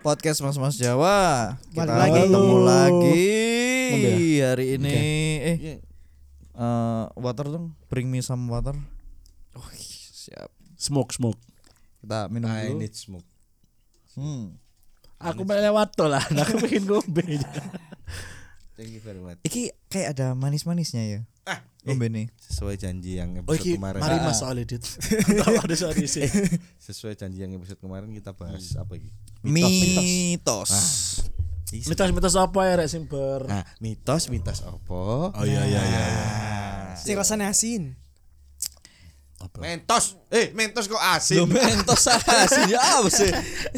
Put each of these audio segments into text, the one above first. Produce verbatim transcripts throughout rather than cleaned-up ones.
podcast Mas-Mas Jawa. Kita lagi. ketemu lagi Ngombe ya? hari ini. Okay. Eh, Yeah. uh, water dong. Bring me some water. Oh, siap. Smoke smoke. Kita minum I dulu. need smoke. Hmm. Aku pengen lewat tol lah, aku pengen ngombe. Thank you very much. Iki kayak ada manis-manisnya ya. Ah, Ngombe nih. Sesuai janji yang Oh episode iki kemarin. mari Ah, Mas soal edit. Tahu ada soal isi. Sesuai janji yang episode kemarin kita bahas apa iki? Mitos. Mitos-mitos apa ya rek sing ber. Nah, mitos mitos apa? Oh iya iya iya. Sing rasane asin. Apa? Mentos. Eh, mentos kok Loh, asin. mentos asin ya apa sih?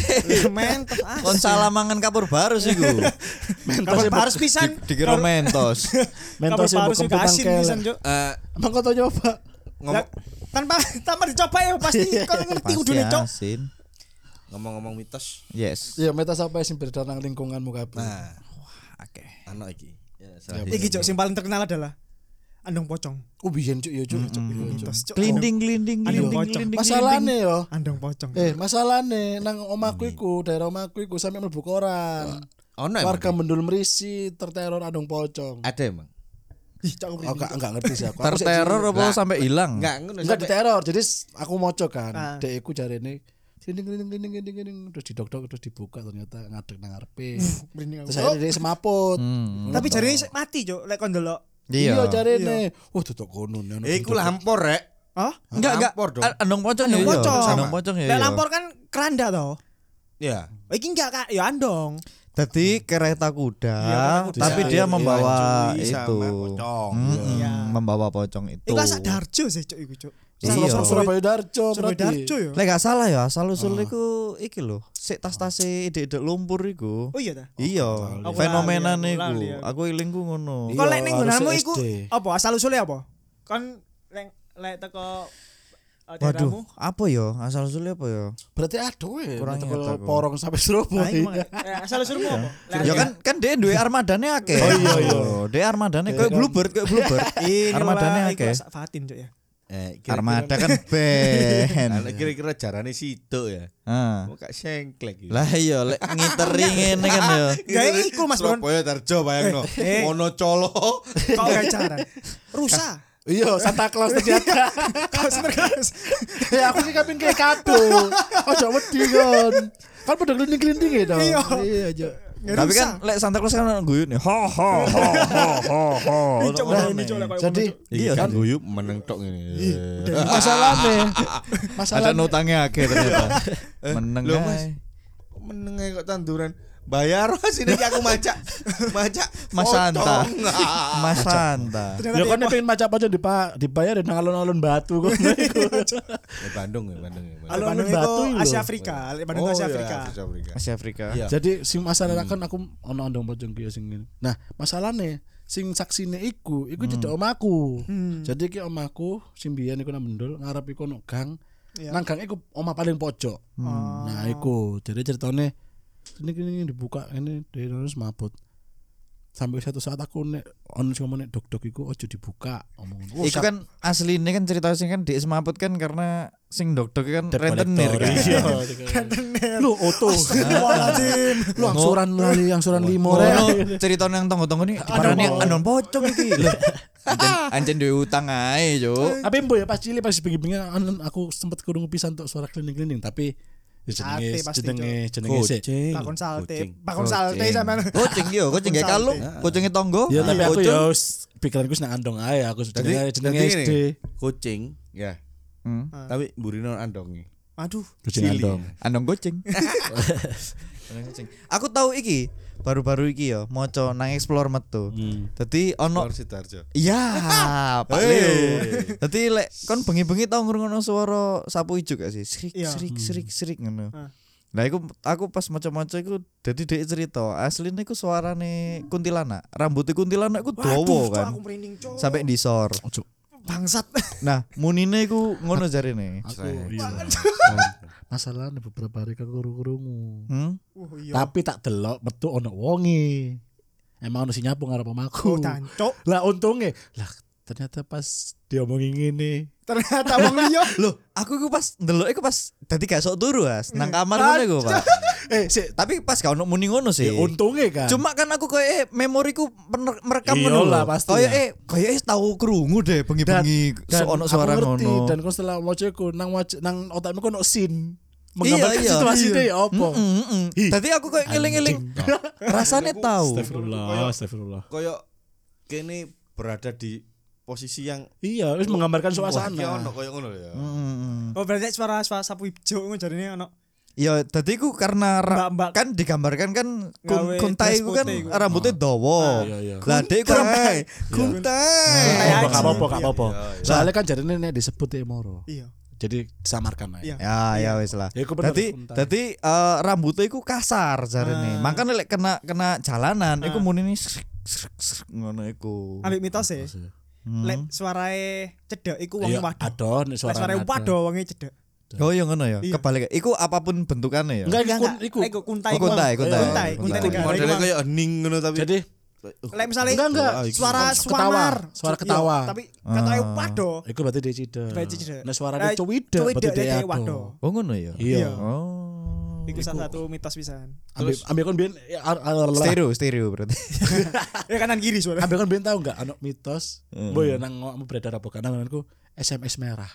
Mentos asin. Kon salah mangan kapur baru sih gue. Kapan harus pisan. Dikira mentos. Mentos Kapan yang harus bukan asin tangkel. pisan, Cuk. Eh, Emang kau tau nyoba? ngomong Tanpa tanpa dicoba ya pasti kau ngerti Pasti kudune, Cok. asin. ngomong-ngomong mitos. Yes. Iya, mitos apa sing beredar nang lingkunganmu kabeh? Nah, Oke. ano iki. Ya, Iki, Cok, sing paling terkenal adalah andong pocong. Oh biyen cuk ya cuk. Cuk, iya, Cuk. Mitos, Cok. Glinding glinding Aduh, glinding pocong. glinding. Masalahnya yo. Andong pocong. Eh, masalahnya nang omaku iku, daerah omaku iku sampe mlebu koran. Ono Warga emang? Mendul Merisi terteror adong pocong. Ada emang? Ih, Cok. Oh, enggak enggak ngerti sih aku. Aku sih Terteror cilik. apa Lah. sampai hilang? Enggak, ngono. Enggak sampai- diteror. Jadi s- aku moco kan. Ah. Dek iku jarene glinding glinding glinding glinding glinding terus didok-dok terus dibuka ternyata ngadeg nang ngarepe. Merinding aku. Terus akhirnya dia semaput. Hmm. Tapi jari mati, Cok, lek kon delok. Iya Iya. jarene. Wah tutuk kono. Eh, iku lampor, Rek. Hah? Enggak enggak. Lampor dong. A- Andong pocong ya. Andong iya. pocong. Andong pocong ya. Lek iya. lampor kan keranda toh. Ya. Oh, iki enggak Kak, ya andong. Jadi kereta kuda, Iya, kereta kuda. tapi Iya, dia iya, membawa cuy, sama itu. pocong. Mm-mm, Iya. membawa pocong itu. Iku sak Darjo sih, Cok, iku, Cok. Iya. Sur- Surabaya Darjo Surabaya berarti. Darjo ya. Lek gak salah ya, asal usul iku iki lho, sik tas-tase ide-ide lumpur iku. Oh iya ta. Iya, Aku fenomena lali, aku niku. lali, aku. Aku ilingku ngono. Iya, Kok lek ning harus nggonanmu S D. iku apa asal usulnya apa? Kon lek lek teko uh, daerahmu. Waduh, apa ya? Asal usulnya apa ya? Berarti aduh ya. Kurang Kurang ingat aku. porong sampai Nah, Surabaya. iku mah- eh, asal usulmu apa? Lek- Ya kan kan dia duwe armadane akeh. Oh, iya, iya. Dia armadane koyo kan. bluebird, koyo bluebird. Ini Armadane lah, iku akeh. sak Fatin, Cok ya. Eh, kira-kira- Armada kan band. Nah, kira-kira jarane situ ya. Ah. Kok gak sengklek gitu. Lah iya lek ngiteri ngene kan ya. Gak iku Mas Bron. Surabaya Darjo bayangno. Eh, eh. Ono colo. Kok gak cara? Rusa. Iya, Santa Claus ternyata. Kau sebenarnya Ya aku sih kaping kayak kado. Ojo wedi kon. Kan pada glinding-glinding ya dong. Iya. Iya aja. Tapi kan lek Santa Claus kan guyu nih. Ho ho ho ho ho ho. Cok Nah, ini Cok lek koyo Jadi ngono, Cok. Iya Iya, kan kan? guyu meneng tok ngene. masalahnya Ada masalahnya nutangnya akeh ternyata. Eh, Meneng lho, Mas. ae. Meneng ae kok tanduran. Bayar sini aku maca. Maca Mas Santa. pocong. Mas Santa. Ternyata ya dia- kan pengen maca pocong dipa dibayar nang alun-alun batu kok. Eh, Bandung ya, Bandung ya. Bandung. Alun Bandung itu Batu lho. Asia Afrika, lek Bandung Oh, Asia iya, Afrika. Asia Afrika. Asia Afrika. Iya. Jadi sing masalah kan aku ono andong pocong ki sing ngene. Nah, masalahnya sing saksine iku, iku cedek omaku. Hmm. Jadi ki omaku sing biyen iku nang Mendul ngarep iku ono gang. Iya. Nang gang iku omah paling pojok. Oh. Nah, iku. Jadi ceritane ini ini dibuka ini dari terus mabut. Sampai satu saat aku nek ono sing ngomong nek dok-dok iku ojo dibuka omong. Oh, Iku kan asline kan cerita sing kan di semaput kan karena sing dok-dok kan Debt rentenir collector. kan. Iya. Rentenir. Lu oto. Astagfirullahaladzim. Lu angsuran lali angsuran limo rek. Ngono cerita nang tonggo-tonggo nih diparani anon pocong iki. Lho, Anjen anjen duwe utang ae, Cuk. Tapi mbo ya pas cilik pas bengi-bengi anu, aku sempet krungu pisan untuk suara klinik-klinik tapi ya Sate jenenge pasti, jenenge jenenge sik. Kucing. Pakon salte, Kucing. pakon salte sampean. Kucing yo, kucing gak kalung, kucingnya tonggo. Ya tapi aku Kucing. ya wis pikiranku wis nang andong ae aku Jadi jenenge jenenge jadi S ini, D. kucing ya. Hmm. Tapi burine andongi. Aduh. Kucing Cili. andong. Andong kucing. Andong kucing. Aku tahu iki baru-baru iki ya moco nang explore metu. Hmm. Dadi ono Lor Sidoarjo. iya, Pak Hei. Leo. Dadi lek kon bengi-bengi tau ngrungokno swara sapu ijo gak sih? Srik Iya. srik srik srik ngono. Ah. Nah, iku aku pas maca-maca iku dadi dhek cerita, asline iku suarane kuntilanak. Rambutnya kuntilanak iku Waduh, dawa Cok, kan. aku merinding, Cok. Sampai disor. Ojo. Bangsat. Nah, munine iku ngono jarine. Aku Saya. iya. Masalahnya beberapa hari aku krungu. Hmm? Uh, iya. Tapi tak delok metu ono wonge. Emang ono sing nyapu ngarep omahku. Oh, tancuk. Lah untunge lah ternyata pas diomongin ngene. Ternyata wong liya. Loh, aku iku pas ndelok iku pas dadi gak sok turu As, nang kamar ngono iku, Pak. Eh, sik, Tapi pas gak ono muni ngono sih. ya untungnya kan. Cuma kan aku kayak eh, memoriku pener- merekam Iya ngono lah, lho. pasti Kayak lah. eh kayak eh tahu krungu deh bengi-bengi dan so, ono aku suara ngerti, ngono. dan kok setelah maca iku nang wac- nang otakmu kok ono scene Iya, menggambarkan iya. situasi Iya. itu ya apa. Mm, mm, mm. Ih, Tadi aku kayak ngiling-ngiling. Rasanya tahu. Astagfirullah, astagfirullah. Koyo kene berada di posisi yang Iya, wis menggambarkan wah, iki suasana. ono koyo ngono ya. Mm, mm, mm. Oh berarti suara suara sapu ijo ngono jarine ono. Ya, tadi ku karena ra- Mbak-mbak kan digambarkan kan kun, Gawe kuntai dress ku kan putih ku. rambutnya dawa. Iya, iya. Lah dek ku Kuntai, rambut kuntai. Gak Aji. apa-apa, gak apa-apa. Iya, iya. Soalnya kan jarine nek disebut ya moro. Iya. Jadi disamarkan aja. Iya. Ya, ya wis lah. Ya, iku bener, Dadi kuntai. dadi eh, rambutnya iku kasar jarene. Ah. Makanya lek kena kena jalanan iku Ah. muni ini srek, srek, srek, ngono iku. Ambek mitos e. Hmm. Lek suarae cedek iku wong Iya, waduh. adon nek Lek suara. suarae waduh wonge cedek. Oh iya ngono ya. Iya. Kebalik. Iku apapun bentukannya ya. Enggak, iku Enggak, iku. iku kuntai. Oh, kuntai, iku. kuntai. Kuntai, kuntai Kuntai. negara. Modelnya iku, Bang. kayak hening ngono tapi Jadi Lek misalnya Enggak, enggak. Wah, iki suara ketawa, suamar, suara Iya, ketawa. tapi katanya Ah. waduh. iku berarti dia cida. Berarti cida. Nah suaranya Nah, cuwida cuwida berarti dia dia ado. waduh. Oh ngono ya. Iya. Iya. Oh. Iku salah satu mitos pisan. Ambil ambil kon biyen ya, ar- ar- Stereo, stereo berarti. Ya kanan kiri suara. ambil kon biyen tahu enggak ana mitos. Heeh. Boy ya nang ngomong beredar apa kan nanganku S M S merah.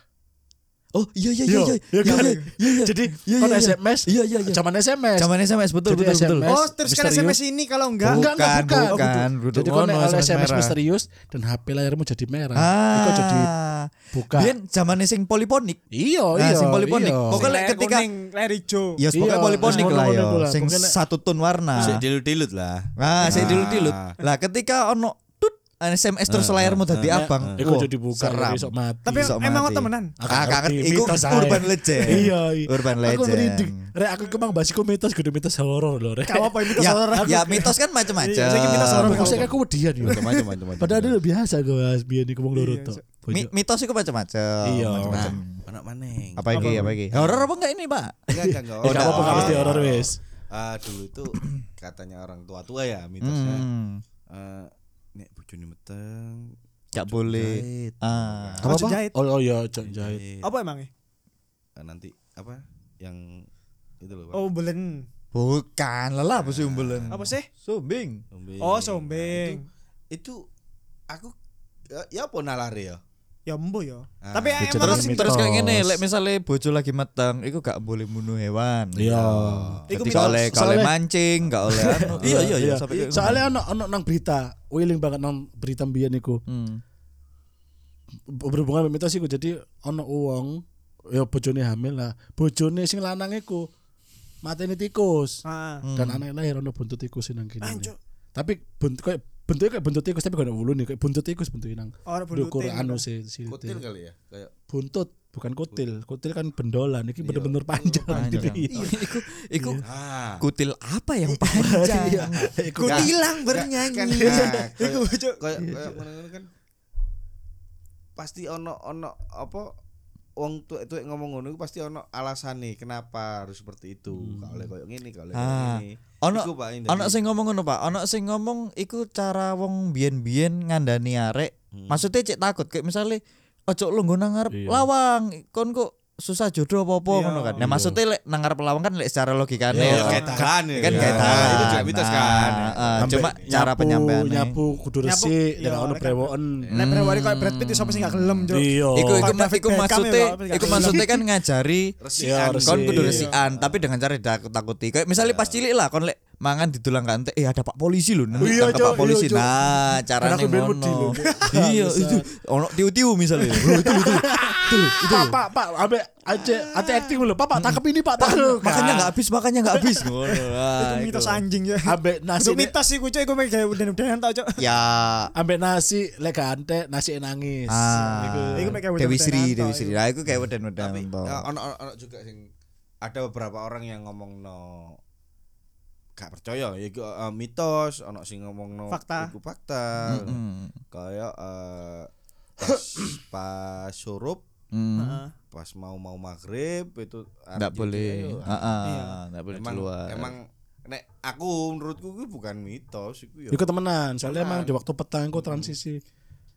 Oh iya iya iya Yo, iya. iya kan? Iya iya iya. Jadi Iya, kon iya, S iya. M S. Iya iya iya. Zaman S M S. Zaman S M S betul Jadi betul betul. S M S. Oh, terus kan S M S ini kalau enggak Enggak, enggak, Bukan, bukan. bukan. Oh, Duduk Jadi kon ngono, nek S M S S M S merah. misterius dan H P layarmu jadi merah. Ah. Iku jadi buka. Biyen zamane sing poliponik. Iya, Nah, iya. sing poliponik. iya. Pokoknya Layar ketika- kuning, layar hijau. Ya Iya, pokoknya poliponik ngono, lah ngono ya. iku lah. Sing Pokoknya- satu tun warna. sik dilut-dilut lah. Ah, sik Ah. dilut-dilut. Lah ketika ono tut S M S terus Ah, layarmu dadi ah, abang. Iku wah, jadi buka seram. besok mati. Tapi Bisa emang mati. temenan. Ah, kangen ngerti, iku mitos ae. urban legend. Iya, iya. Urban Aku merinding. legend. Rek aku kemang bahas iku mitos kudu mitos horor lho, Rek. Gak apa-apa mitos Ya, horor. ya mitos kan macam-macam. Iya, saya mitos horor. Aku sih aku wedian yo. Macam-macam macam-macam. Padahal dulu biasa gue bahas biyen iku wong loro Iya, tok. Mi- mitos itu macam-macam. Iya. macam-macam. Anak maneng. Apa iki? Apa iki? Horor apa enggak ini, Pak? Enggak enggak enggak. Oh, enggak apa-apa enggak mesti Oh, horor wis. Ah, dulu itu katanya orang tua-tua ya mitosnya. Hmm. Eh, nek bojone meteng Enggak boleh. jahit. Ah. Apa jahit? Oh, oh iya, jahit. Jahit. Apa emangnya? Eh, nanti apa yang itu loh Pak. Oh, belen. Bukan, lelah apa sih umbelan? Apa sih? Sumbing. Sombeng. Oh, Nah, sombeng. itu, itu aku ya, ya apa nalare ya? Ya embo ya. Ah. Tapi Bocah emang Terus mitos. terus kayak gini, lek misalnya bojo lagi meteng, iku gak boleh bunuh hewan. Iya. Iku Jadi mitos. gak oleh gak oleh Soalnya- mancing, gak oleh anu. Iya iya iya sampai kayak Soalnya ono ono nang berita, wiling banget nang berita mbiyen iku. Hmm. Berhubungan sama mitos iku jadi ono wong ya bojone hamil lah. Bojone sing lanang iku mateni tikus. Ah. Dan anak lahir ono buntut tikus nang kene. Anjuk. Tapi buntut kayak bentuknya kayak buntut tikus tapi gak ada wulune kayak buntut tikus bentuknya nang Ora dukur bulutin. anu si si Kutil kali ya? Kayak buntut bukan kutil. Kutil kan bendolan iki bener-bener panjang. Panjang. Iya. Iku iku ah. kutil apa yang panjang? Iya. Iku Kutilang bernyanyi. Kan, Iku nah, bocok. kayak kayak ngono-ngono kan pasti ono ono apa wong tuwek-tuwek ngomong ngono iku pasti ono alasane kenapa harus seperti itu. Gak oleh koyo ngene, gak oleh koyo Ah. ngene. Ono Iku, Pak, ini ono tadi. sing ngomong ngono, Pak. Ono sing ngomong iku cara wong biyen-biyen ngandani arek. Hmm. Maksudnya cek takut kayak misalnya ojo lu nggo nang ngarep Iya. lawang, kon kok susah jodoh apa-apa Iya. ngono kan. Nah, Iya. maksudnya lek nang ngarep lawang kan lek secara logikane Ya, ya. kayak tahan ya. Kan Ya, kayak tahan. Itu juga mitos kan. Nah, ah, Sampai cuma cara nyapu, penyampaiannya. nyapu kudu Nyapu, resik iya, dan ono kan. brewoken. Lek prewari koyo Brad Pitt sapa sing gak gelem, Cuk. Iya. Iku iku Kan ma- David iku Beckham maksudnya ya, Pak, iku Beckham. maksudnya kan ngajari Resikan. Iya, kon kudu Iya. resikan tapi dengan cara ditakut-takuti. Kayak misalnya pas cilik lah kon lek mangan didulang kante eh ada Pak polisi lho. Nah, Iya, tangkap Cok, Pak polisi. iya, Cok. Nah, caranya aku ben wedi ngono. lho. Iya, Bangsat. itu ono tiu-tiu misalnya. Bro, itu itu. Itu lho, itu. Pak, lho. Pak, Pak, ambek aja ati acting lho. Pak, Pak, tangkap ini, Pak. Pak, Tangkap. makanya enggak habis, makanya enggak habis. Ngono. Nah, Itu itu. mitos anjing ya. Ambek nasi Itu mitos sih kucuk iku mek gawe udan-udanan tau, Cuk. Ya. ambek nasi lek gak antek nasi nangis. Ah, Iku. Iku mek kayak Dewi udan-udanan Sri, toh, Dewi iku. Sri. Nah, itu kayak wedan-wedan Tapi toh. ya, ono ono ono juga sing ada beberapa orang yang ngomong no gak percaya ya iku eh, mitos, ono sing ngomong no Fakta. iku fakta. Mm-mm. Kayak eh, pas pas surup Mm. Heeh. pas mau mau maghrib itu Enggak arep boleh. gitu, ayo. Heeh, Iya. enggak boleh emang keluar. emang nek aku menurutku itu bukan mitos iku ya. Iku temenan, soalnya Temenan. emang di waktu petang iku transisi.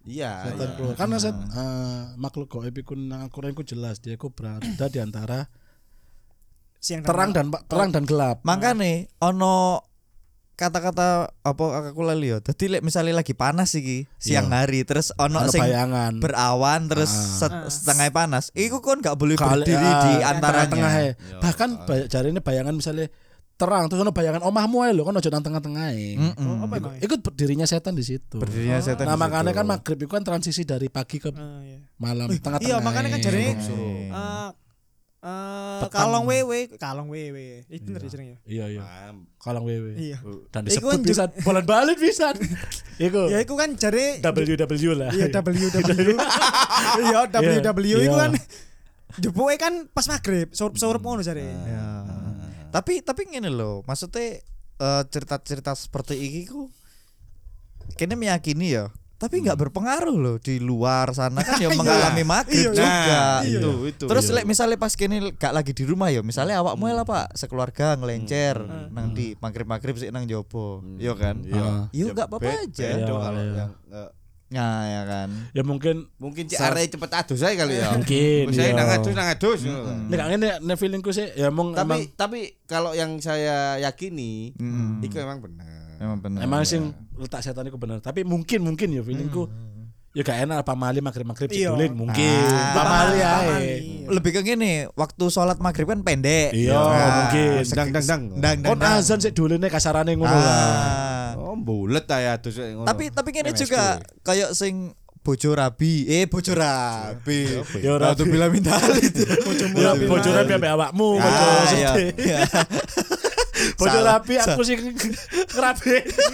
Iya, Setan iya. keluar. Karena set, eh, makhluk gaib iku nang Al-Qur'an iku jelas dia iku berada di antara Siang terang dan terang dan gelap. Makane ono kata-kata apa aku lali yo. Dadi lek misale lagi panas iki siang hari terus ono Ono sing bayangan. berawan terus Ah. set- setengah panas. Iku kon gak boleh Kali- berdiri ah, di tengah-tengah antaranya. e. Bahkan bay- jarine bayangan misalnya terang terus ono bayangan omahmu ae lho kan ojo nang tengah-tengah e. Mm-mm. Oh, apa emang? Ikut berdirinya setan di situ. Berdirinya setan. Nah di makanya situ. kan maghrib itu kan transisi dari pagi ke Ah, iya. malam tengah-tengah. Iya, makanya kan jarine Hmm. eh eh Petang. kalong wewe, kalong wewe. Itu bener jenenge. Iya iya. Paham. Kalang wewe. Iya. Dan Iku disebut kan bisa bolan balik bisa. Iku Ya iku kan jare W W lah. Iya W W. Iya W W Iya. iku kan jepuke kan pas maghrib, surup-surup ngono jare. Ya. Tapi tapi ngene lho, maksudnya eh, cerita-cerita seperti ini ku kene meyakini ya, tapi nggak berpengaruh loh di luar sana kan ya mengalami maghrib Iya, juga. Nah, iya. itu itu. Terus iya. lek misalnya pas kene gak lagi di rumah ya, misalnya awakmu lah Pak sekeluarga ngelencer nang di maghrib-maghrib sik nang jopo. Iya kan? Ah. Yo gak apa-apa Be- aja. beda Iya, kalau iya. yang eh, Nah, ya kan. Ya mungkin mungkin cek arek cepet adus ae kali ya. Mungkin, Saya iya. nang adus nang adus ngono kan. nek ngene nek feelingku sih ya emang emang Tapi tapi kalau yang saya yakini Mm. itu emang benar. Emang benar. emang sing letak setan itu benar. Tapi mungkin mungkin ya feelingku ya gak enak pamali maghrib-maghrib Iya. didulin mungkin. Ah. Pamali ae. Pamali. Lebih ke gini, waktu sholat maghrib kan pendek. Iya, Nah, mungkin. sek- Dang dang dang. Dang dang. Kon dang. azan sik duline kasarane ngono lah. Ah. Oh, bulet ae adus ngono. Tapi tapi kene M S K. juga kayak sing bojo rabi, eh bojo rabi. Ya ora Ratu bila minta itu. Ya bojone piye awakmu, bojo Ah, iya. sedih. Iya. Bojo Salah. rapi aku sing ngrabi.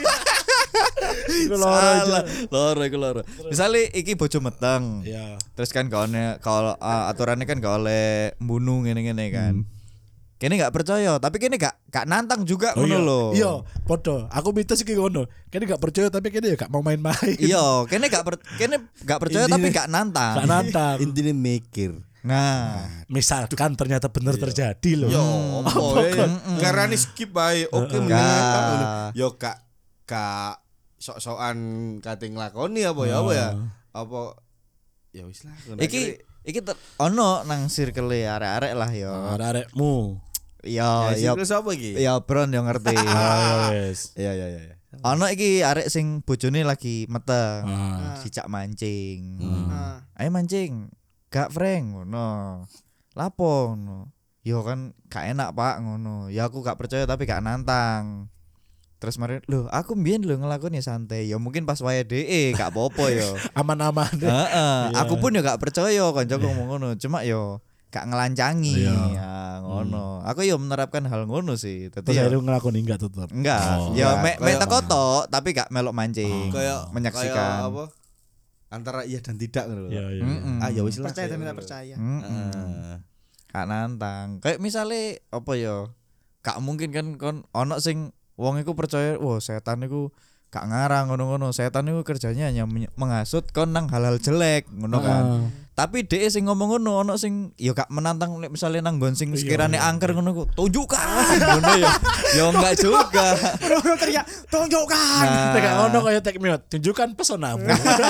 Iku loro Salah, aja. loro iku loro. Misale iki bojo meteng. Iya. Terus kan gak oleh kalau uh, aturannya kan gak oleh mbunuh ngene-ngene kan. Kene gak percaya, tapi kene gak gak nantang juga ngono lho. Iya, padha. Aku mitos iki ngono. Kene gak percaya tapi kene ya gak mau main-main. Iya, kene gak per, kene gak percaya tapi gak nantang. Gak nantang. Intine mikir. Nah, Misalkan ternyata benar terjadi loh. Yo, opo ya? Karena ini skip bae. Oke, mendingan kan ngono. Yo kak kak sok-sokan kate nglakoni apa ya apa ya? Apa ya wis lah. ngono. iki iki ter, ono nang circle arek-arek lah yo. Arek-arekmu. Iya, ya iya. sing sapa iki? Ya Bron yo ngerti. Ah, wes. Iya iya iya. Ono iki arek sing bojone lagi meteng. Ah. Sicak mancing. Ah. Ayo mancing. Gak Frank ngono. Lapo ngono. Yo kan gak enak Pak ngono. Ya aku gak percaya tapi gak nantang. Terus mari lho aku mbiyen lho ngelakoni santai. Ya mungkin pas wae D E gak apa-apa yo. Aman-aman. Heeh, Iya. aku pun yo gak percaya kancaku ngomong ngono. Cuma yo gak ngelancangi. Iya. Ya ngono. Aku yo menerapkan hal ngono sih. Dadi Terus yo akhirnya ngelakoni enggak tetep. enggak. Oh. Ya Enggak, mek mek kayak- teko tok tapi gak melok mancing. Kayak menyaksikan. kayak apa? Antara iya dan tidak ngono lho. Iya, iya. Mm-mm. Ah ya wis lah. Percaya saya tapi tak ngono. percaya. Mm-mm. Heeh. Gak nantang. Kayak misalnya apa ya? Gak mungkin kan kon ono sing wong iku percaya, wah setan iku gak ngarang ngono-ngono. Setan iku kerjanya hanya menye- menghasut kon nang hal-hal jelek ngono kan. Ah. Tapi dhek sing ngomong ngono ono sing ya gak menantang nek misale nang nggon sing Iya, sekirane iya. angker ngono ku. Tunjukkan ngono ya. Ya enggak juga. Bro teriak, tunjukkan. Nah, Nek ono kaya take me out, tunjukkan pesonamu.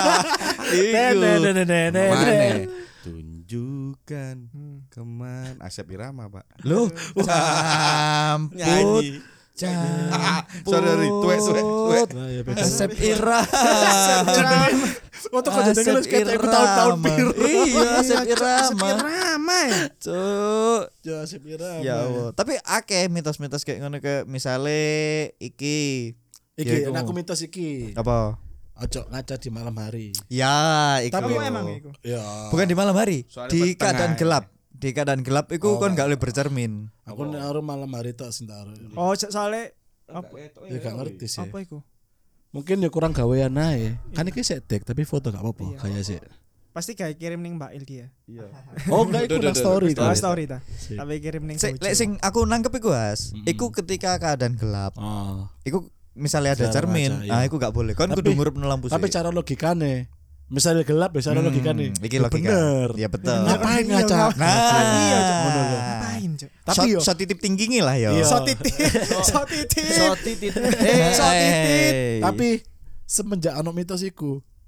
iku. Nenenenenenet. Mana? Tunjukkan keman Asep Irama, Pak. Loh, camput. Nyanyi. Camput. Sorry, sorry. Tuwek, tuwek, tuwek. Nah, ya, beda. Asep Irama. Waktu kau jadi ngelus kayak aku tahun-tahun biru. Iya, Asep Irama. Ramai. Cuk. Ya Asep Irama. Ya Allah. Tapi akeh mitos-mitos kayak ngono kayak misale iki. Ya, Iki, iku. aku mitos iki. Apa? Ojo ngaca di malam hari. Ya, iku. Tapi lho. emang iku. Ya. Bukan di malam hari, Soalnya di peteng keadaan ae. gelap. Di keadaan gelap iku Oh, kon gak boleh bercermin. Aku nek aru malam hari tok sing tak aru. Oh, so- soalnya apa Ya gak ngerti sih. apa iku? Mungkin ya kurang gawean ae. Kan iki sik dek tapi foto gak apa-apa Iya. kayak sih. Pasti kayak kirim ning Mbak Il dia. Iya. Oh enggak iku nang story Oh, ta. story ta. Sip. Tapi kirim ning Sik, bojo. lek sing aku nangkep iku As, Mm-mm. iku ketika keadaan gelap. Oh. Iku misalnya ada Cara cermin, ngaca, iya. ah iku gak boleh. Kon Tapi- kudu ngurup lampu Tapi sih. cara logikane misalnya gelap ya cara Hmm, logikane. iki Ya logika. bener. Ya betul. Ngapain Iya, ngaca? ngapain? Nah, Iya, Cuk. Ngono lho. Ngapain, Cuk? Tapi shot, yo shot titip tinggi lah ya. Iya. So titit. So titit. So titit. Eh, So titit. eh. tapi semenjak ono mitos iku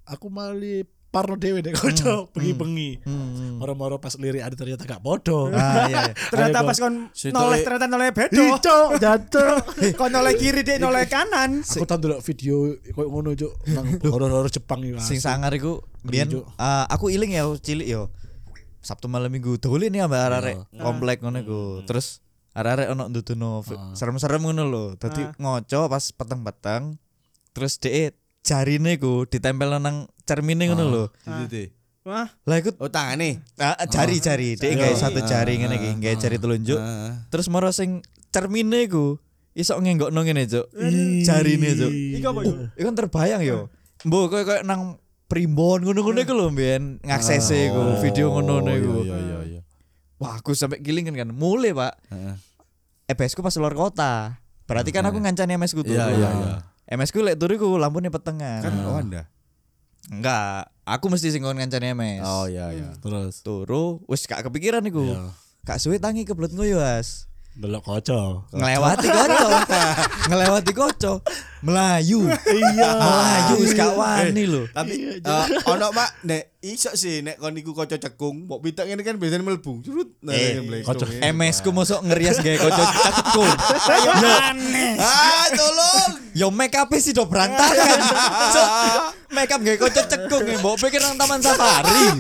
aku mali parno dhewe nek kanca bengi-bengi. Hmm. Moro-moro pas lirik ada ternyata gak podo. Ah iya. iya. Ternyata Ayo, pas kon Situ noleh le- ternyata noleh bedo. Cok, jatuh. Kon noleh kiri dek noleh kanan. Aku tau ndelok video koyo ngono cuk nang horor-horor Jepang iki. Sing sangar iku biyen Juk. eh, aku iling ya cilik yo. Sabtu malam Minggu dolen ya mbak arek Iya. komplek ngono iku. Terus arek-arek ono ndudono fi- serem-serem ngono lho. Dadi Ah. ngoco pas peteng-peteng. Terus dhek jarine iku ditempel nang cermine ngono lho. Gitu. Wah, Lah iku Oh, tangane. ah, jari-jari, dhek Jari. gawe satu jari Ah, ngene iki, gawe jari telunjuk. Ah. Terus moro sing cermine iku iso ngenggokno ngene, Cuk. Jarine, Cuk. iki apa yo? Iku kan terbayang yo. Mbok koyo koyo nang primbon ngono-ngono iku lho mbiyen ngaksese iku, video ngono-ngono iku. Iya iya iya. Wah, aku sampai gilingan kan. Mulai, Pak. Heeh. E B S ku pas luar kota. Berarti kan aku ngancani M S ku tuh. Iya iya iya. M S ku lek turu iku lampune petengan. Kan Wanda. Enggak, aku mesti sing kon ngancani M S. Oh iya iya. Terus Turu wis gak kepikiran iku. Iya. Gak suwe tangi kebelet ngoyo, As. delok kaca. Ngelewati koco. Ngelewati koco. Melayu. Iya. Melayu wis gak wani lho. Tapi eh, ono Mak nek iso sih nek kon iku kaca cekung, mbok pitak ngene kan biasanya mlebu. Curut. Nah, Eh, ini kaca mlebu. M S ku mosok ngerias gawe koco cekung. Yo, Ah, tolong. yo make up sih do berantakan. So, make up gawe koco cekung mbok pikir nang Taman Safari.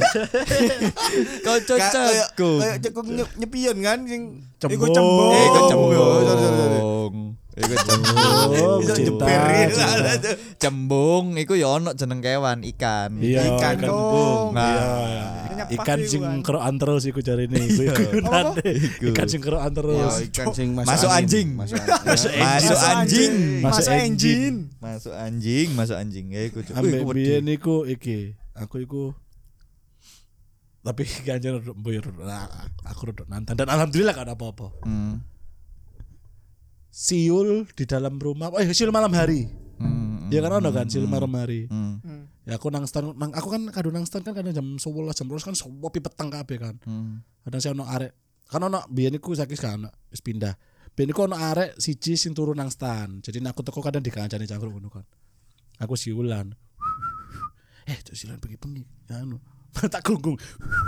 Koco Kayak cekung. kayak cekung nyep- nyepion kan sing Iku cembung. Eh, iku cembung. Oh, sorry, sorry, sorry. Iku cembung. Iso cinta, jeperin cinta. lah tuh. Cembung iku ya ono jeneng kewan ikan. Iya, Ikan ikan dong. Nah, Iya. Nyepak Ikan iku sing kan. kerokan terus iku jarine iku iku gunane. Ikan sing kerokan Ya, terus. ikan sing Masuk anjing. Masuk anjing. Masuk anjing. Masuk Masuk engine. engine. Masuk anjing, masuk anjing. Ya iku. Cuk. Wih, Ambek iku wedi. biyen iku iki, aku iku tapi ganjar mboyo aku rodok nantang dan alhamdulillah gak ada apa-apa. Hmm. Siul di dalam rumah, oh siul malam hari. Hmm. Ya kan ono kan siul malam hari. Hmm. Hmm. Ya aku nang stand, nang aku kan kado nang stand kan kadang jam sebelas jam dua belas kan sepi peteng kabeh kan. Hmm. Kadang saya ono arek, kan ono biyen iku saiki kan ono wis pindah. Biyen iku ono arek siji sing turu nang stand. Jadi aku teko kadang dikancani cangkruk ngono kan. Aku siulan. Eh, tuh siulan bengi-bengi. Ya anu. Tak gunggung.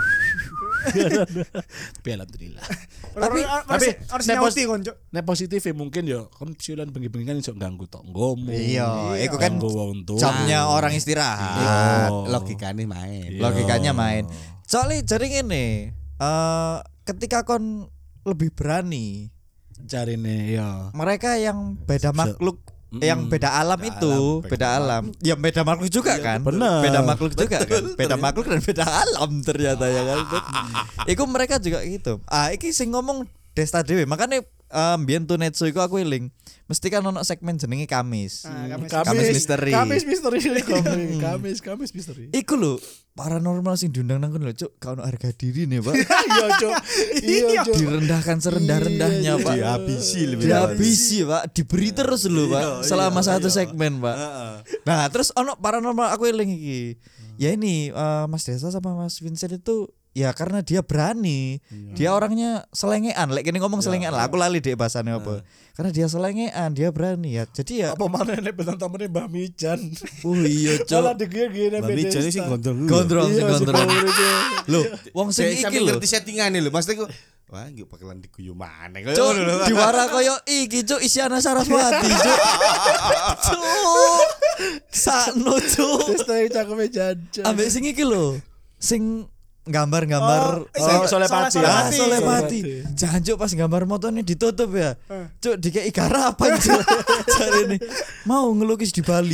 Tapi alhamdulillah. Tapi tapi harus nek nyauti kon, Cuk. Nek positif ya mungkin ya kan siulan bengi-bengi kan iso ganggu tonggomu. Iya, iku kan ganggu wong tuwa. jamnya orang istirahat. Oh. Logikane main. Iya. Logikanya main. Soalnya jadi ngene, eh ketika kon lebih berani, Jarine ya. mereka yang beda makhluk Mm-mm. yang beda alam Beda itu, alam, beda beda alam. Ya beda makhluk juga kan? bener. Beda makhluk juga kan? Beda makhluk dan beda alam ternyata ya kan. Iku mereka juga gitu. Ah, iki sing ngomong Desta Dewi. Makanya um, biyen Tunetsu iku aku eling. Mesti kan ono segmen jenenge Kamis. Ah, Kamis. Kamis misteri. Kamis misteri. Kamis, Kamis, Kamis misteri. Iku lho paranormal sing diundang nang kono lho, Cuk. Gak ono harga diri nih, Pak. Iya, Cok. Iya, Cok. Direndahkan serendah-rendahnya, Iya, Pak. iya. Dihabisi lebih Dihabisi, Pak. Diberi terus lho, Pak. Selama satu segmen, Pak. Nah, terus ono paranormal aku eling iki. Ya ini eh, Mas Desa sama Mas Vincent itu ya karena dia berani. Dia orangnya selengean. Lek kene ngomong selengean lah, aku lali deh bahasane apa. Karena dia selengean, dia berani ya. Jadi ya Apa mana nek bentang tamene Mbah Mijan. oh iya, Malah Cuk. digene Mbak Mijan ini sing gondrong. Gondrong sing Iya, si gondrong. Paul itu. Lho, wong sing Saya iki sampe lho. ngerti settingane lho. Maksudku wah, nggih bakalan diguyu maneh. Kayak Cuk, ngono lho. diwara koyo iki, Cuk, Isyana Saraswati, Cuk. Cuk. Sakno, Cuk. Terus tadi cakepnya jajan. Ambek sing iki lho. Sing gambar-gambar Oh, Oh, Solepati. Ah, Solepati. Solepati. Jancuk pas gambar motornya ditutup ya. Cuk, dikei garapan, Cuk. Jarene mau ngelukis di Bali.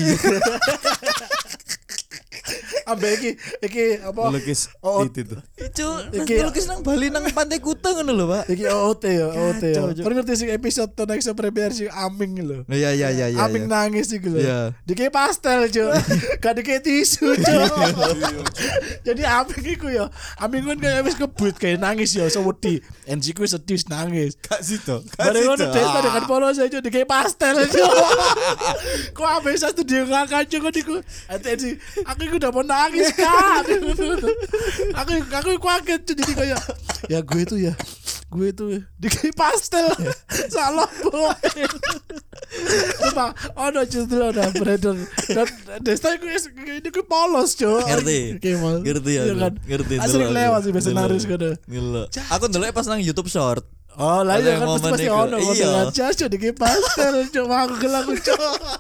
Ambek iki iki apa? Lukis Oh, itu tuh. Cuk, nang Iki- ngelukis nang Bali nang Pantai Kuta ngono lho, Pak. Iki O O T ya, O O T ya. Cok, cok. Kan ngerti sing episode to next premier sing Aming lho. Iya iya iya iya. Aming nangis iki lho. Iya. Dikei pastel, Cuk. Gak dikei tisu, Cuk. Jadi Aming iku ya, Aming kan kayak wis kebut kayak nangis ya, so wedi. N G ku sedih nangis. Kak Sito. Bareng ngono Desta dengan polos aja dikei pastel, Cuk. Kok ambek sa studio ngakak Cuk niku. Ati aku iku udah mau nangis kan. Aku aku kaget Cuk jadi kayak ya gue itu ya gue itu dikei pastel. Salah boy. Sumpah, ono justru ada beredar. Dan Desta iku wis ini ku polos, Cuk. Ngerti. Kemal. Ngerti ya. Iya kan? Ngerti. Asli ndelok lewat aku. sih biasa Ndelok. naris ngono. Ndelok. Aku ndelok pas nang YouTube Short. Oh, lah Ada iya yang kan pasti momen pasti iku. ono Iya. ngono jas Cuk diki pastel, Cuk aku gelang Cuk.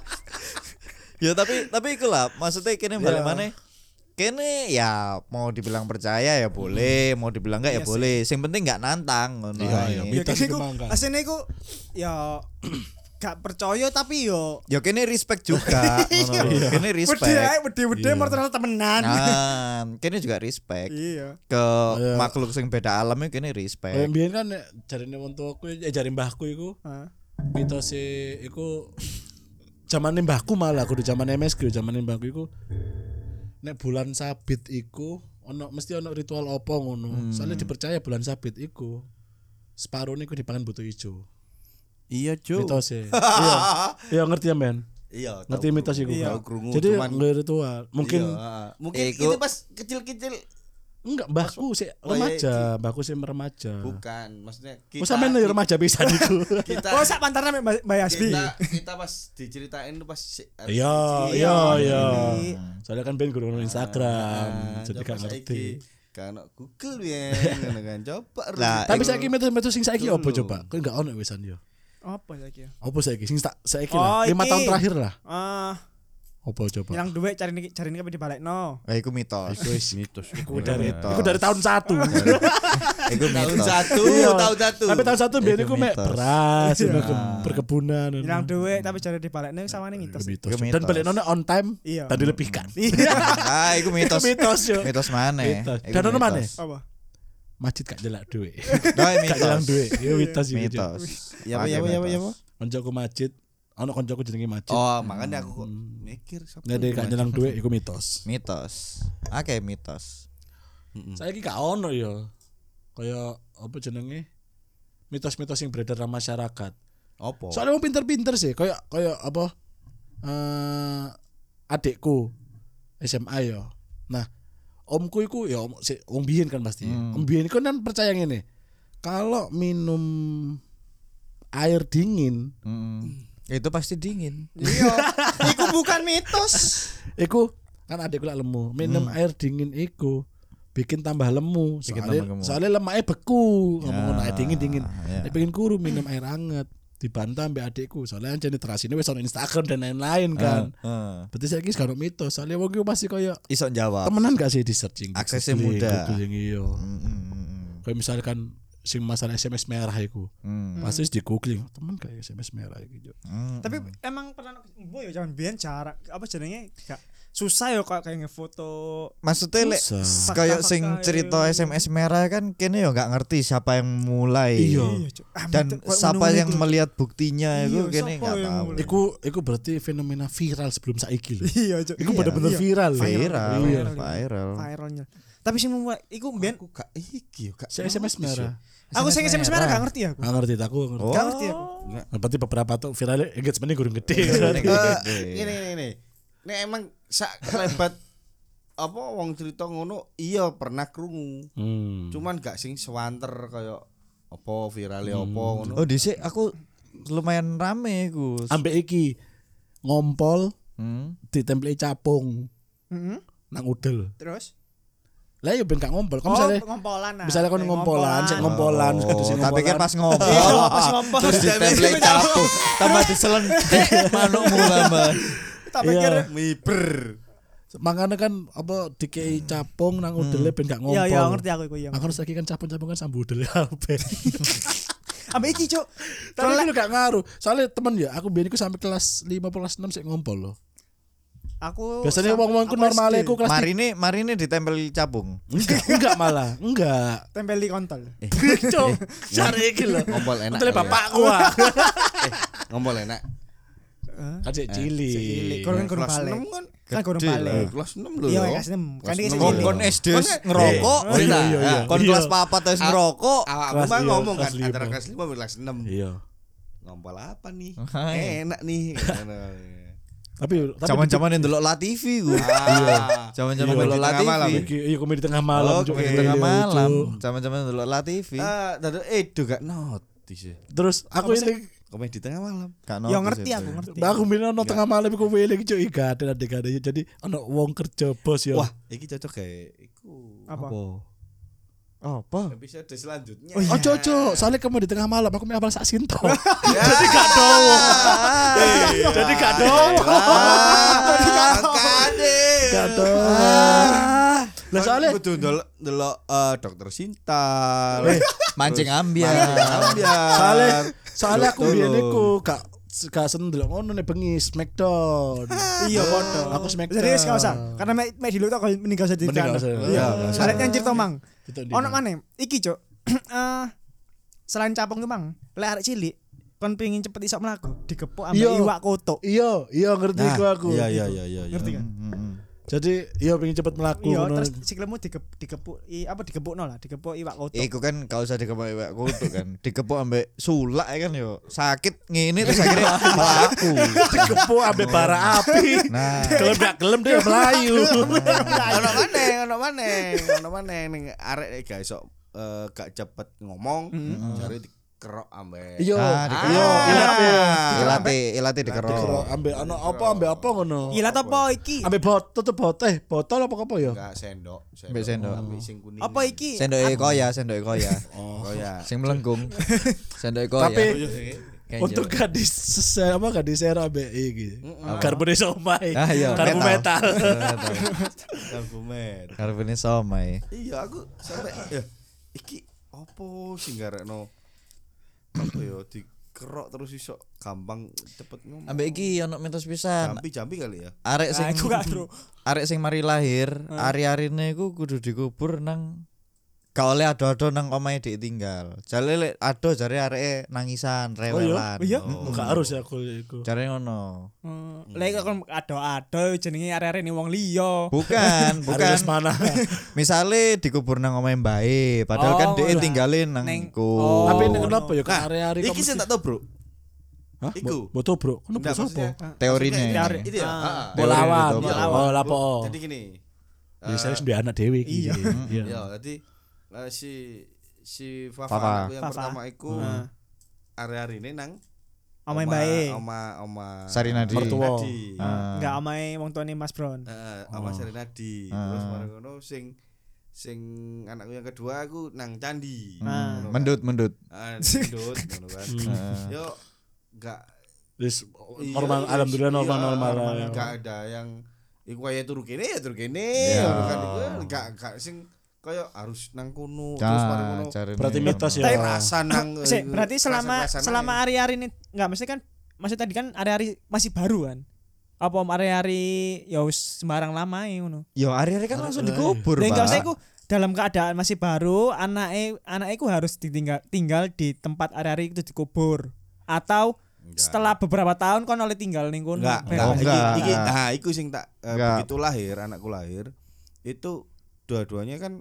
Ya tapi tapi iku lah, maksudnya kene balik Ya. maneh. Kene ya mau dibilang percaya ya boleh, mau dibilang enggak ya Iya boleh. Sing penting enggak nantang ngono. Iya, ae. iya. Ya Mitos kene iku iku mangga. asline iku ya gak percaya tapi yo Ya kene respect juga ngono. Iya. Kene wedi ae respect. wedi-wedi Iya. mortal temenan. Nah, kene juga respect Iya. ke Iya. makhluk sing beda alam ya kene Kayak respect. mbiyen kan nek jarine wong tuaku eh jare mbahku iku Heeh. mitos e iku zamane mbahku malah kudu zamane M S G zamane mbahku iku nek bulan sabit iku ono mesti ono ritual apa ngono. Soalnya dipercaya bulan sabit iku separuh iku dipangan butuh ijo. Iya, Cuk. Mitos e. Iya. Iya ngerti ya, Men? Iya, Ngerti mitos iku. Iya. Tahu krungu, Jadi cuman nggak ritual. Mungkin iya, mungkin Iku- itu pas kecil-kecil enggak mbahku sih Oh, iya, remaja, mbahku sih remaja. bukan, maksudnya kita Oh sampean ya remaja pisan iku. kita Oh sak pantarna Mbak Mbak Yasbi. kita kita pas diceritain tuh pas si- Iya, kecil. iya, iya. Iya. Soalnya kan ben guru Instagram, Nah, jadi coba gak ngerti. saiki. Kan Google ya, ngono kan. Coba Lah, Tapi iku- saiki mitos-mitos sing saiki Dulu. apa coba? Kok enggak ono wisan yo. Apa saiki ya? Apa saiki sing tak saiki Oh, lah. lima iki. tahun terakhir lah. Ah, Apa coba? hilang duit cari niki cari niki dibalekno. Eh, iku mitos. Iku wis mitos. iku dari mitos. iku dari tahun satu. Iku Tahun mitos. satu, Iya. tahun satu. Tapi tahun satu biyen Iku iku mek mitos. beras, Iya. ngono, ke- perkebunan. ngono. Hilang duit tapi cari dibalekno sawane mitos. Iku mitos. Iku Dan mitos. balik nona on time Iya. tadi lebihkan. Iya. Ah, iku mitos. Iku mitos yo. Mitos mana? Mitos. Iku Dan ono mitos. maneh? Apa? Masjid gak jelak duit. Nah, Gak jelang duit. Iku mitos iki. Mitos. Ya apa ya apa ya apa ya apa? Koncoku masjid, ono koncoku jenenge masjid. Oh, makanya aku kok mikir siapa Nggak ada yang gak jelang duit iku mitos. Mitos. Oke, mitos. Saiki gak ono ya. Kayak apa jenenge? Mitos-mitos yang beredar dalam masyarakat. Apa? Soalnya wong pinter-pinter sih, kayak kayak apa? Eh adikku S M A ya. Nah, omku iku ya om, si, om biyen kan pasti. Om biyen iku kan percaya ngene. Kalau minum air dingin, Mm. Itu pasti dingin. Iya. Iku bukan mitos. iku kan adikku lak lemu. Minum air dingin iku bikin tambah lemu. Bikin Soalnya, tambah gemuk. soalnya lemaknya beku. Ngomong air dingin dingin. ya. Nek pengen kuru minum air anget. Dibantah mbak adikku. Soalnya anjane terasine wis ono Instagram dan lain-lain kan. Heeh. Berarti saiki gak ono mitos. Soalnya wong iku masih koyo Iso jawab. temenan gak sih di searching. di Aksesnya googling, mudah. googling, iya. Mm, mm, mm, Kayak misalkan sing masalah S M S merah iku. mm. Pasti di googling, temen kayak S M S merah iki. Jo. Mm. Tapi emang pernah boy ya zaman biyen cara apa jenenge gak susah ya kok kayak ngefoto. Maksudnya lek Susah. kayak sing Fakta-fakta cerita ya. S M S merah kan kene yo nggak ngerti siapa yang mulai. Iya. Cuk. Ah, Dan mitos- kok siapa ngono yang iku. melihat buktinya itu Iya, kene siapa nggak yang tahu. mulai? Iku iku berarti fenomena viral sebelum saiki lho. Iya, Cuk. Iku Iya. bener-bener Iya. viral. lho. Viral, Iya. viral. Viralnya. Tapi sing memulai iku biyen Aku gak iki yo gak. Si S M S merah. aku sing S M S merah gak ngerti aku. Gak ngerti aku. ngerti. Oh. Gak ngerti aku. Nah, berarti beberapa tuh viralnya engagementnya gurung gede. Engagementnya Berarti. gede. Eh, Gede. Ini ini ini. Nek emang sak lebat apa wong cerita ngono iya pernah krungu. Hmm. Cuman gak sing sewanter kaya apa virale apa ngono. Oh, dhisik aku lumayan rame iku. Ambek iki ngompol Hmm. ditempeli capung Heeh. nang udel. Terus Lah ya ben gak ngompol. Kamu oh, misalnya ngompolan. nah. misalnya kon Kayak ngompolan, sik ngompolan, Oh, terus sing tak pikir ngompolan. pas ngompol. Iya, pas ngompol. Terus ditempel capu, tambah diselentik manukmu tambah. Tak pikir Iya. Miber. Makanya kan apa dikei capung nang udele ben gak ngompol. Iya, iya ngerti aku iku iya. Makanya saiki kan capung-capung kan sambu udele kabeh. Ambek iki, Cuk. Tapi Soalnya itu gak ngaruh. Soalnya temen ya, aku biyen iku sampai kelas lima kelas enam sik ngompol loh. aku Biasanya sam- wong-wong ku aku normale S D. aku kelas tiga. Marine Marine ditempel capung. Enggak, enggak malah, enggak. tempel di kontol. Cok, cari iki lho. Ngompol enak. Betul kali ya. bapakku ah. Ngompol enak. Kan sik cilik. Cilik. Kon kan kurang Kelas balik. enam kan. Kan kurang Gede balik. lah. Kelas enam lho. Iya, yo. kelas enam. Kan iki Kelas sing enam. Kon cilik. kon S D ngerokok. Oh, iya, iya, iya. Kon Iya. kelas papat wis ngerokok. Awakku Kelas mah iya, ngomong kan kelas lima. antara kelas lima dan kelas enam. Iya. Ngompol apa nih? Hai. Enak nih. Tapi tapi Zaman-zaman yang delok La T V ku. Ah. Zaman-zaman Iya. delok La T V. Malam. Iki iya komedi tengah malam. Oh, Cuk. komedi Iya, tengah iya, malam. Cuk. Zaman-zaman delok La T V. Ah, dadu edo gak notis ya. Terus aku Apa sih? ini komedi tengah malam. Gak Ya notice ngerti itu. aku ngerti. Aku bilang ono tengah malam iku wele iki cuk gak ada adegan jadi ono wong kerja bos ya. Wah, iki cocok kayak iku. Apa? Apa? Episode selanjutnya. Oh cocok, soalnya kamu di tengah malam aku mau apal sak sinto. Jadi gak dowo. Jadi gak dowo. Makane. Gak dowo. Lah soalnya kudu ndelok ndelok eh, dokter Sinta. Mancing ambiar. Ambiar. soalnya soalnya aku Betul. biyen iku gak gak seneng ndelok ngono nek bengi Smackdown. Iya podo. Aku Smackdown. Jadi wis gak usah. Karena mek mek dulu tak meninggal jadi Mending gak usah. Iya. Salet yang cerita mang. Itu di Ono mana? maneh iki cuk. Eh selain capung ki mang, lek arek cilik kon pengin cepet iso mlaku, digepuk ambek Iya. iwak kotok. Iya, iya ngerti Nah, iku aku. Iya iya iya iya. Ngerti kan? Hmm, hmm. Jadi iya pengen cepet mlaku Iya, ngono. terus sikilmu digep- digepuk i, apa digepukno lah, digepuk iwak kotok. Iku kan gak usah dikepuk iwak kutuk kan. Dikepuk ambek sulak ya kan yo. Sakit ngene terus akhirnya mlaku. Digepuk ambek bara api. Nah, Gelem gak gelem dia melayu. Ono maneh, ono maneh, ono maneh ning arek gak iso eh, gak cepet ngomong, jare dikerok ambek. Iya, Ah, dikerok. iya, ilate. ilate ilate dikerok. Dikerok ambek ono apa ambek apa ngono. Ilat apa iki? Ambek botol tutup botol eh botol apa apa ya? Enggak sendok, Ambek sendok. ambek sing kuning. Apa iki? Sendoke koya, sendoke koya. Oh ya. Sing melengkung. Sendoke koya. Tapi untuk gadis se- apa gadis share ambek iki. Karbone somai. Ah, iya, Karbu metal. metal. Albumet. Karbone somai. Iya, aku sampai ya iki opo sing garekno apa ya dikerok terus iso gampang cepet ngomong. Ambek iki ono mitos pisan. jampi-jampi kali ya. Arek Nah, sing iku gak tru. arek sing mari lahir, ari-arine iku kudu dikubur nang gak oleh ado-ado nang omahe ditinggal. Jare lek ado jare areke nangisan, rewelan. Oh iya? Oh. Gak harus ya aku iku. Jare ngono. Hmm, lek kon ado-ado jenenge arek-arek ni wong liya. Bukan, bukan. Harus mana? Misale dikubur nang omahe mbae, padahal Oh, kan dhek iya. tinggalin nang Neng- iku. Oh. Tapi ini kenapa ya Nah, kan hari-hari iki sing tak tau, Bro. Hah? iku. Bo- Boto bro. Kenapa Enggak, sapa? maksudnya- Teorine. maksudnya Teori. Itu ya. Ah. Heeh. Teori Bolawan. itu, Oh, lapo. Jadi gini. Ya eh, saya sudah anak dewi iki. Iya. Iya. Ya, jadi eh, si si Fafa, Fafa. anakku yang Fafa. pertama iku Heeh. hari-hari ini nang Omahe oma- bae. Oma oma Sarinadi. Mertua. Nadi. Ah. Enggak omahe wong tuane Mas Bron. Heeh, oma Oh. Sarinadi. Ah. Terus mari ngono sing sing anakku yang kedua aku nang candi. Ah. Ngono kan. Mendut, mendut. Ah, mendut ngono kan. Hmm. Heeh. Yo enggak Wis iya, normal iya, alhamdulillah iya, normal normal. normal. ya. enggak ada yang iku kaya turu kene ya turu kene Ya. ngono kan iku enggak enggak sing kaya harus nang kono Ca- terus mari ngono. carane Berarti ngono. mitos ya. Tapi Rasa nang Sik, eh, berarti selama rasa-rasaan selama aja. hari-hari ini enggak mesti kan maksud tadi kan hari-hari masih baru kan. Apa om hari-hari ya wis sembarang lama ya ngono. Yo hari-hari kan langsung dikubur, Dan enggak usah Pak. iku dalam keadaan masih baru, anake anake iku harus ditinggal tinggal di tempat hari-hari itu dikubur atau Enggak. setelah beberapa tahun kon oleh tinggal ning kono. Enggak, Kayak- enggak. Oh, Iki, enggak. iki, nah, iku sing tak eh, Enggak. begitu lahir, anakku lahir, itu dua-duanya kan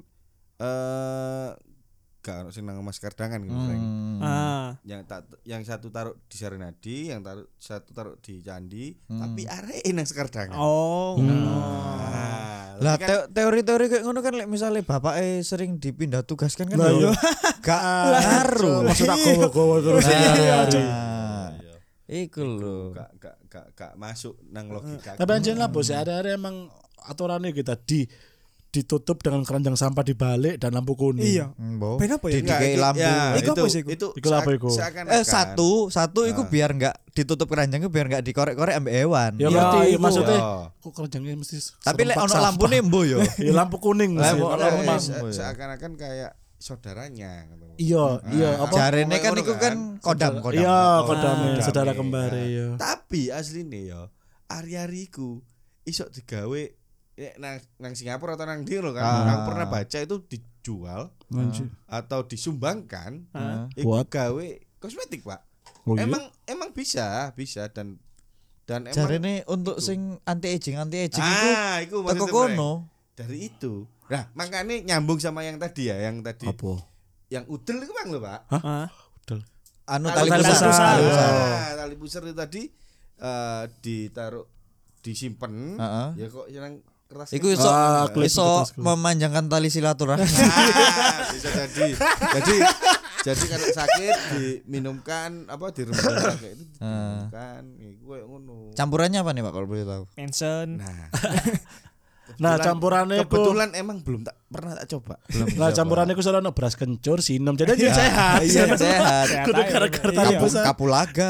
eh gak ono sing nang Mas Kardangan gitu, Frank. Hmm. Ah. Yang tak yang satu taruh di Sarinadi, yang taruh satu taruh di Candi, Hmm. tapi areke nang Sekardangan. Oh. Hmm. Nah, Lah tapi kan- teo- teori-teori kayak ngono kan lek misale bapake sering dipindah tugaskan kan Lah, yo iya. gak ngaruh. Maksud aku gowo terus Nah, hari-hari. Iya. Iku lho. gak gak gak gak masuk nang logika. Tapi anjir lah bos, ada-ada emang aturannya kita di ditutup dengan keranjang sampah dibalik dan lampu kuning. Iya. Mbok. Ben apa ya? Di- dikai iki- lampu. ya, Iku apa sih iku? Itu Iku apa iku? seakan-akan- Eh satu, satu iku Ah. biar enggak ditutup keranjangnya biar enggak dikorek-korek ambek hewan. Ya Ya, berarti iku. maksudnya Ya. kok keranjangnya mesti Tapi lek serempak ono sampah. lampune mbo yo. Ya lampu kuning mesti. Lampu- Kalau lampu- memang- lampu. Se- Oh, iya. seakan-akan kayak saudaranya gitu. Iya, iya Ah, apa? Pokoknya Jarene kan ngono iku kan kan. kodam, kodam. Iya, Ah, kodame kodame. saudara kembar Nah, ya. Tapi asline ya ari-ari iku iso digawe eh, nang nang Singapura atau nang ndi lho kan. Ah. Aku pernah baca itu dijual Anjir. atau disumbangkan Ah. iku Buat? gawe kosmetik, Pak. Oh, iya? Emang emang bisa, bisa dan dan emang Jarene untuk itu. sing anti aging, anti aging iku ah, iku teko maksudnya, Frank. kono. Dari itu. Nah, makanya nyambung sama yang tadi ya, yang tadi Apa? yang udel itu Bang lho, Pak. Ah. Udah. Anu Tali tali pusar. pusar. Tali Tali pusar. Nah, tali pusar itu tadi eh ditaruh disimpen. Heeh. Ya kok yang keras. Iku kan? iso Ah, klip iso kertas, klip. memanjangkan tali silaturahmi. Ah, bisa jadi. Jadi Jadi kalau sakit diminumkan apa dirembes kayak itu Ah. diminumkan iku koyo ngono. Campurannya apa nih Pak kalau boleh tahu? Mention. Nah. Nah, Kebetulan- campurannya ku- kebetulan emang belum tak pernah tak coba. Lah campurannya ku soalnya beras kencur, sinem. Jadi dia sehat. Iya, sehat. Sehat Kudu aja. gara-gara Iya. tambah Kapu, sehat. kapulaga.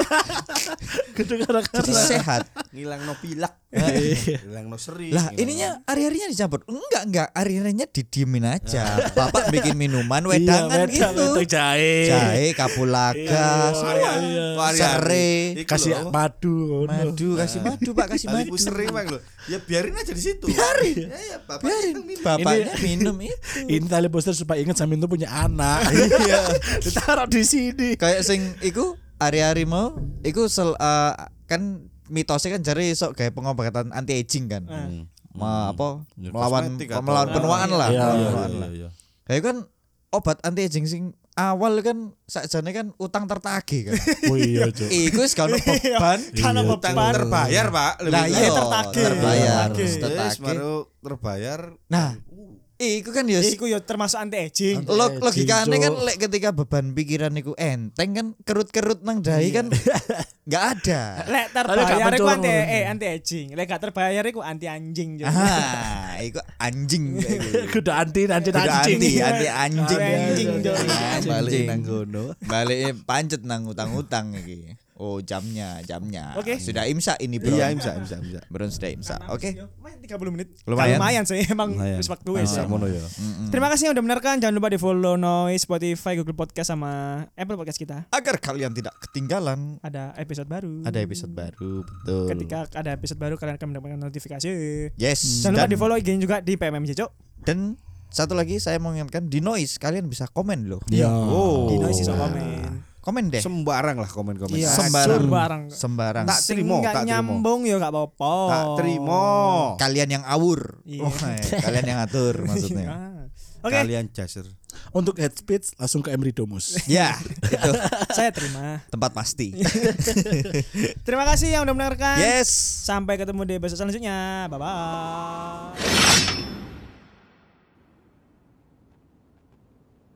Kudu gara-gara. Jadi sehat. Ngilang no pilak. Iya. Ngilang no seri. Lah, ininya hari-harinya dicampur. Enggak, enggak. Hari-harinya didiemin aja. Bapak bikin minuman Iya, wedangan wedang, gitu. wedang jahe. Jahe, kapulaga, Iya, iya. serai, Kasih madu. ngono. madu, kasih madu Pak, kasih Tali madu. puseri bang lo. Ya biarin aja di situ. Biarin. Ya ya bapak Biarin. yang minum. Bapaknya minum itu. Ini tali poster supaya ingat Samin tuh punya anak. Iya. Ditaruh di sini. Kayak sing iku hari-hari mau iku sel, eh, kan mitosnya kan jare iso kayak pengobatan anti aging kan. Hmm. Ma, apa Ya, melawan kosmetik atau- melawan penuaan lah. Iya, melawan iya, penuaan lah. Kayak kan obat anti aging sing awal kan sakjane kan utang tertagih kan. Oh iya, Cuk. Iku wis gak ono beban. Karena Iya, Utang beban. terbayar pak. Lah Iya, iya tertagih. terbayar, Tertagih. terus Yes, tertagih. baru terbayar. Nah, iku kan ya Iku yo termasuk anti aging. Anti- Log logikane Cuk. kan lek ketika beban pikiran iku enteng kan kerut-kerut nang dahi kan nggak ada. Lek Ada terbayar gak iku mencur anti ngono. eh anti aging. Lek gak terbayar iku anti anjing. Jadi. Ah, iku anjing kayak gitu. Kudu anti anti Udah anjing. anti, anti anjing. Anjing, Jok. Balik nang gono. Balik pancet nang utang-utang iki. Oh, jamnya, jamnya. Oke. Sudah imsak ini, Bro. Iya imsa imsa imsa. Bro sudah imsak. Oke. Main tiga puluh menit. Lumayan. Lumayan sih emang Lumayan. wis waktu wis. Imsa mono ya. Terima kasih yang udah mendengarkan. Jangan lupa di follow Noise, Spotify, Google Podcast sama Apple Podcast kita. Agar kalian tidak ketinggalan Ada episode baru. ada episode baru, betul. Ketika ada episode baru kalian akan mendapatkan notifikasi. Yes. Jangan lupa Dan, di follow I G juga di P M M J Cok. dan satu lagi saya mau ingatkan di Noise kalian bisa komen loh. Iya. Oh. Di Noise iso komen. Komen deh. Sembarang lah komen-komen. Iya, Sembarang. sembarang. Sembarang. Tak Sing terima, nggak tak terima. nyambung ya gak apa-apa. Tak terima. Kalian yang awur. Iya. Oh, eh, kalian yang atur maksudnya. Ah. Oke, Kalian jaser. Untuk head speech langsung ke Emridomus. Ya, itu saya terima. tempat pasti. Terima kasih yang udah mendengarkan. Yes. Sampai ketemu di episode selanjutnya. Bye bye.